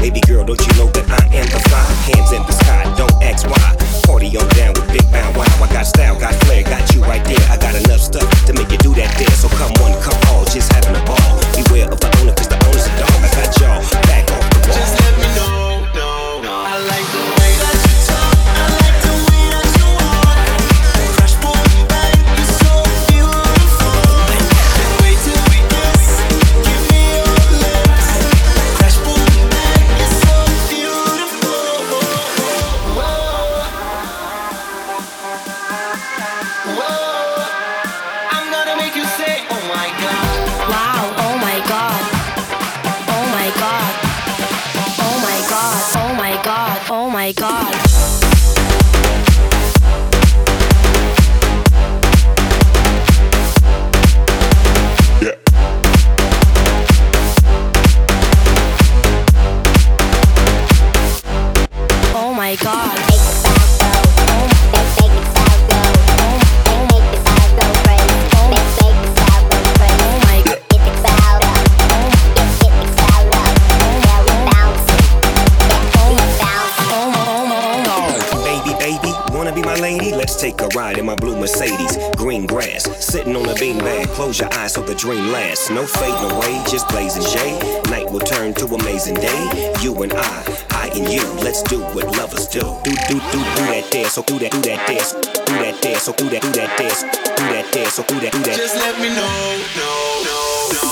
Baby girl, don't you know that I am the fly? Hands in the sky, don't ask why. Party on down with Big Bow Wow. I got style, got flair, got you right there. I got enough stuff to make you do that there. So come on, come all, just having a ball. Beware of the owner, cause the owner's a dog. I got y'all back off the wall. Just let me know, no. I like the way that you talk. I like the way that you walk. Crash, boom, bang, you're so beautiful. Can't wait till we kiss. Give me your lips. Crash, boom, bang, you're so beautiful. Whoa. I'm gonna make you say, oh my God. Wow, oh my God. Oh my God. Oh my God. Oh my God. Oh my God. Oh my God. Let's take a ride in my blue Mercedes. Green grass, sitting on a beanbag. Close your eyes so the dream lasts. No fading away, just blazing shade. Night will turn to amazing day. You and I and you. Let's do what lovers do. Do that there, so do that there. Do that there, so do that there. Do that there, so do that. Just let me know, no.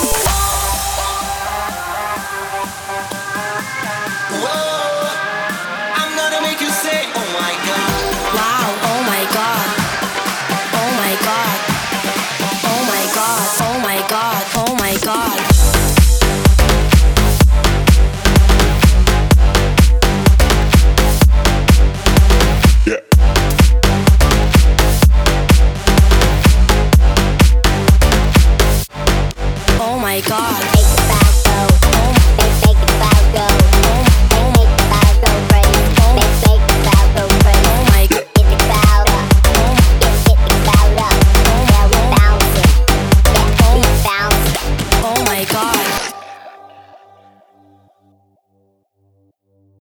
Whoa, I'm gonna make you say, oh my God. Wow, oh my God. Oh my God. Oh my God. Oh my God. Oh my God. Oh my God.